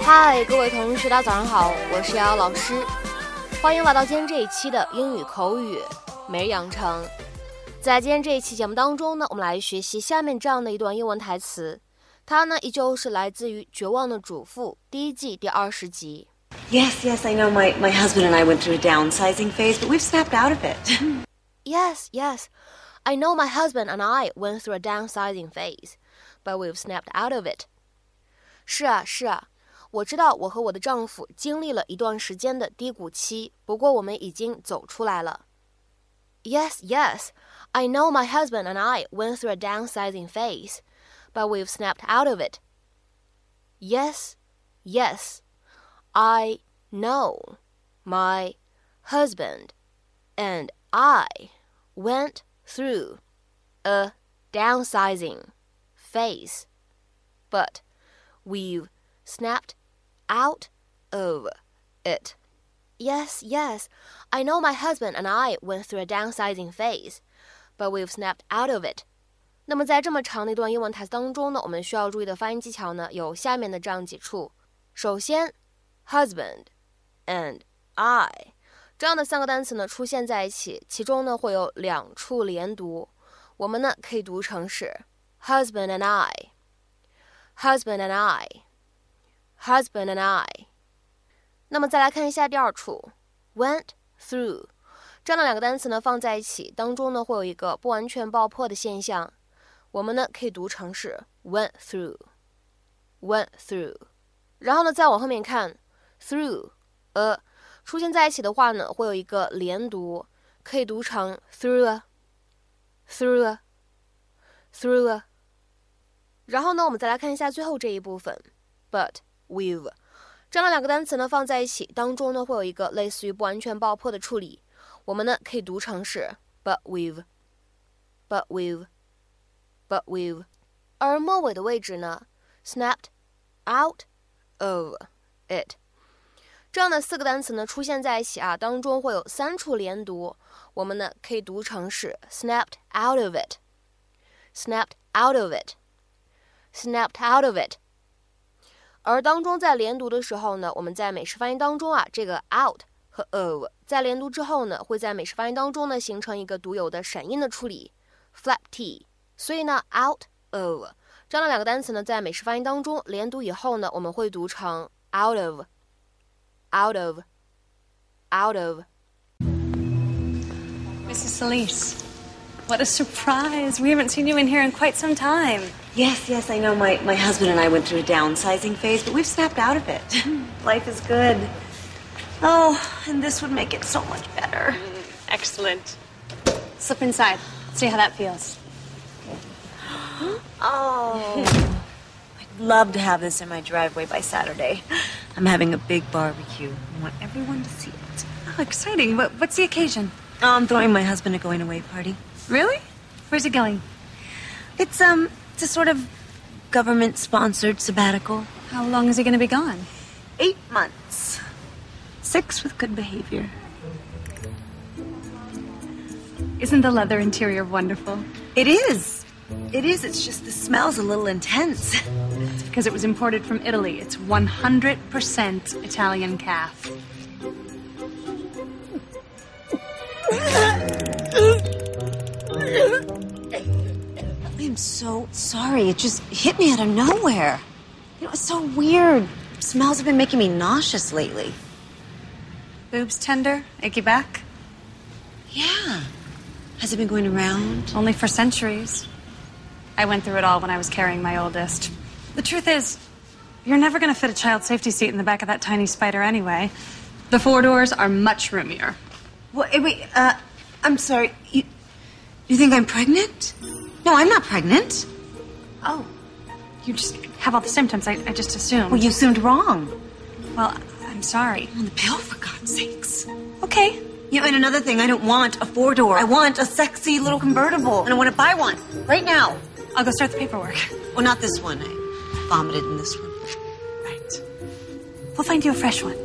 嗨，各位同学，大家早上好，我是瑶瑶老师，欢迎来到今天这一期的英语口语每日养成。在今天这一期节目当中呢，我们来学习下面这样的一段英文台词，它呢依旧是来自于《绝望的主妇》第一季第20集。 Yes, I know my husband and I went through a downsizing phase, but we've snapped out of it. Yes, I know my husband and I went through a downsizing phase, but we've snapped out of it. 是啊，我知道我和我的丈夫经历了一段时间的低谷期，不过我们已经走出来了。Yes, I know my husband and I went through a downsizing phase, but we've snapped out of it. Yes, I know my husband and I went through a downsizing phase, but we've snapped out of it. Yes, I know my husband and I went through a downsizing phase, but we've snapped out of it. 那么在这么长的一段英文台词当中呢，我们需要注意的发音技巧呢，有下面的这样几处。首先 husband and I 这样的三个单词呢出现在一起，其中呢会有两处连读，我们呢可以读成是 husband and I, husband and I, husband and I。 那么再来看一下第二处 went through 这样的两个单词呢放在一起，当中呢会有一个不完全爆破的现象，我们呢可以读成是 went through, went through。 然后呢再往后面看 through 出现在一起的话呢会有一个连读，可以读成 through, through, through。 然后呢我们再来看一下最后这一部分 but we've 这样的两个单词呢放在一起，当中呢会有一个类似于不完全爆破的处理，我们呢可以读成是 but we've, but we've, but we've。 而末尾的位置呢 snapped out of it 这样的四个单词呢出现在一起啊，当中会有三处连读，我们呢可以读成是 snapped out of it, snapped out of it, snapped out of it。 而当中在连读的时候呢，我们在美式发音当中啊，这个 out 和 of 在连读之后呢，会在美式发音当中呢形成一个独有的闪音的处理 flap t， 所以呢 out of 这样的两个单词呢在美式发音当中连读以后呢，我们会读成 out of, out of, out of。 Mrs. Solis, what a surprise. We haven't seen you in here in quite some time. Yes, I know my husband and I went through a downsizing phase, but we've snapped out of it. Life is good. Oh, and this would make it so much better. Excellent. Slip inside. See how that feels. Oh, I'd love to have this in my driveway by Saturday. I'm having a big barbecue. I want everyone to see it. Oh, exciting. What's the occasion? I'm throwing my husband a going-away party. Really? Where's it going? It's a sort of government-sponsored sabbatical. How long is he going to be gone? 8 months. 6 with good behavior. Isn't the leather interior wonderful? It is. It's just the smell's a little intense. It's because it was imported from Italy. It's 100% Italian calf. I'm so sorry. It just hit me out of nowhere. It's so weird. Smells have been making me nauseous lately. Boobs tender? Achy back? Yeah. Has it been going around? Only for centuries. I went through it all when I was carrying my oldest. The truth is, you're never going to fit a child safety seat in the back of that tiny spider anyway. The 4 doors are much roomier. Wait, I'm sorry. You think I'm pregnant? No, I'm not pregnant. Oh, you just have all the symptoms. I just assumed. Well, you assumed wrong. Well, I'm sorry. On the pill, for God's sakes. Okay. And another thing, I don't want a 4-door. I want a sexy little convertible. And I want to buy one. Right now. I'll go start the paperwork. Well, not this one. I vomited in this one. Right. We'll find you a fresh one.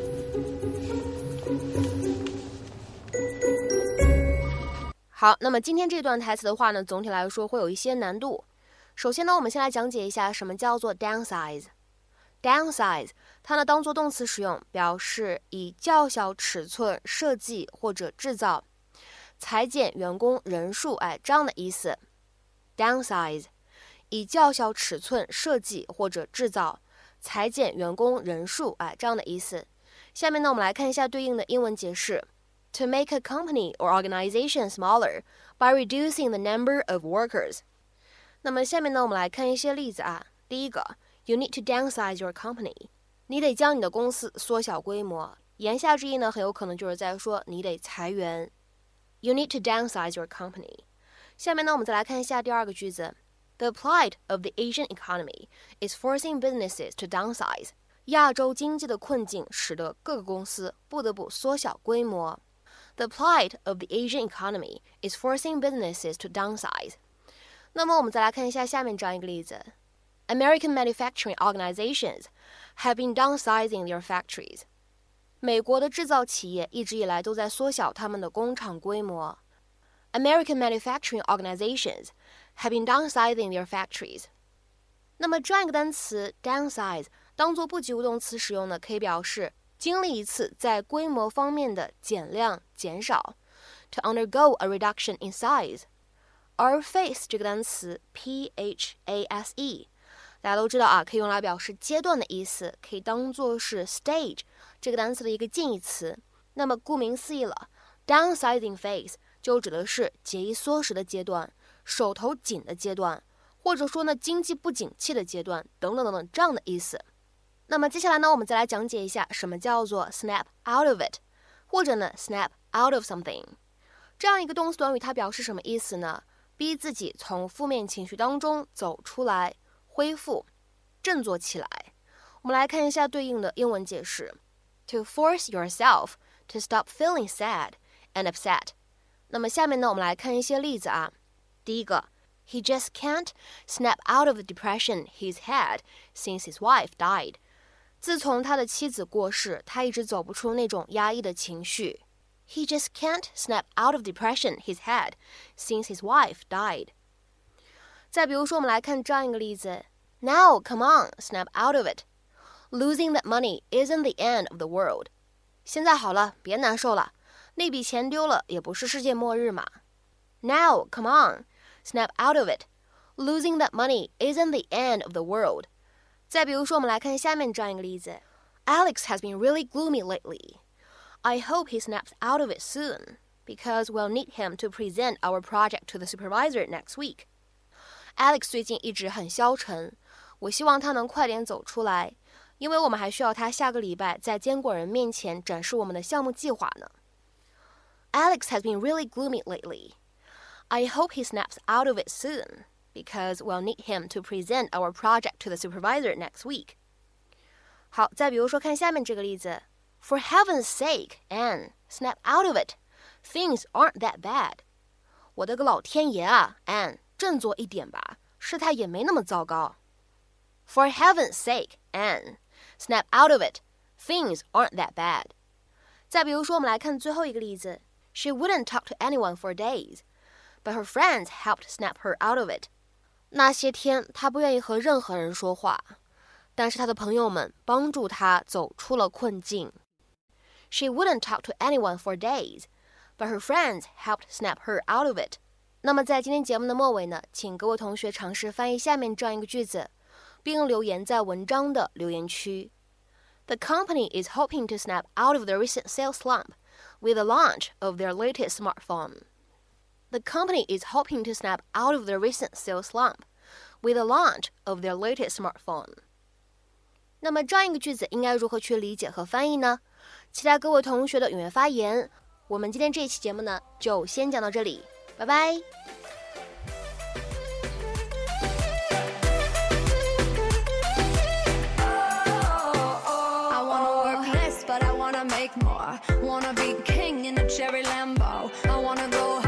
好，那么今天这段台词的话呢，总体来说会有一些难度。首先呢，我们先来讲解一下什么叫做 downsize。 downsize 它呢当做动词使用，表示以较小尺寸设计或者制造，裁减员工人数，这样的意思。downsize 以较小尺寸设计或者制造，裁减员工人数，这样的意思。下面呢我们来看一下对应的英文解释。To make a company or organization smaller by reducing the number of workers。 那么下面呢我们来看一些例子第一个 You need to downsize your company。 你得将你的公司缩小规模，言下之意呢很有可能就是在说你得裁员。You need to downsize your company。 下面呢我们再来看一下第二个句子。The plight of the Asian economy is forcing businesses to downsize。 亚洲经济的困境使得各个公司不得不缩小规模。The plight of the Asian economy is forcing businesses to downsize。 那么我们再来看一下下面这样一个例子。American manufacturing organizations have been downsizing their factories。 美国的制造企业一直以来都在缩小他们的工厂规模。American manufacturing organizations have been downsizing their factories。 那么这样一个单词 downsize 当做不及物动词使用呢，可以表示经历一次在规模方面的减量减少 to undergo a reduction in size。 而 phase 这个单词 phase 大家都知道可以用来表示阶段的意思，可以当作是 stage 这个单词的一个近义词。那么顾名思义了， downsizing phase 就指的是节衣缩食的阶段，手头紧的阶段，或者说呢经济不景气的阶段等等等等这样的意思。那么接下来呢我们再来讲解一下什么叫做 snap out of it， 或者呢 snap out of something。 这样一个动词短语它表示什么意思呢？逼自己从负面情绪当中走出来，恢复振作起来。我们来看一下对应的英文解释。 To force yourself to stop feeling sad and upset。 那么下面呢我们来看一些例子第一个 He just can't snap out of the depression he's had since his wife died。 自从他的妻子过世，他一直走不出那种压抑的情绪。 He just can't snap out of depression he's had since his wife died。 再比如说我们来看这样一个例子。 Now come on, snap out of it. Losing that money isn't the end of the world。 现在好了，别难受了，那笔钱丢了也不是世界末日嘛。 Now come on, snap out of it. Losing that money isn't the end of the world。 再比如说我们来看下面这样一个例子。 Alex has been really gloomy lately. I hope he snaps out of it soon, because we'll need him to present our project to the supervisor next week. Alex 最近一直很消沉，我希望他能快点走出来，因为我们还需要他下个礼拜在监管人面前展示我们的项目计划呢。 Alex has been really gloomy lately. I hope he snaps out of it soon, because we'll need him to present our project to the supervisor next week. 好，再比如说看下面这个例子。 For heaven's sake, Anne, snap out of it. Things aren't that bad. 我的个老天爷Anne， 振作一点吧，事态也没那么糟糕。 For heaven's sake, Anne, snap out of it. Things aren't that bad. 再比如说我们来看最后一个例子。 She wouldn't talk to anyone for days, but her friends helped snap her out of it. 那些天她不愿意和任何人说话，但是她的朋友们帮助她走出了困境。 She wouldn't talk to anyone for days, but her friends helped snap her out of it. 那么在今天节目的末尾呢，请各位同学尝试翻译下面这样一个句子，并留言在文章的留言区。 The company is hoping to snap out of the recent sales slump with the launch of their latest smartphone. The company is hoping to snap out of the recent sales slump with the launch of their latest smartphone. 那么这样一个句子应该如何去理解和翻译呢？期待各位同学的踊跃发言。我们今天这一期节目呢，就先讲到这里，拜拜。 Make more. Wanna be king in a cherry Lambo. I wanna go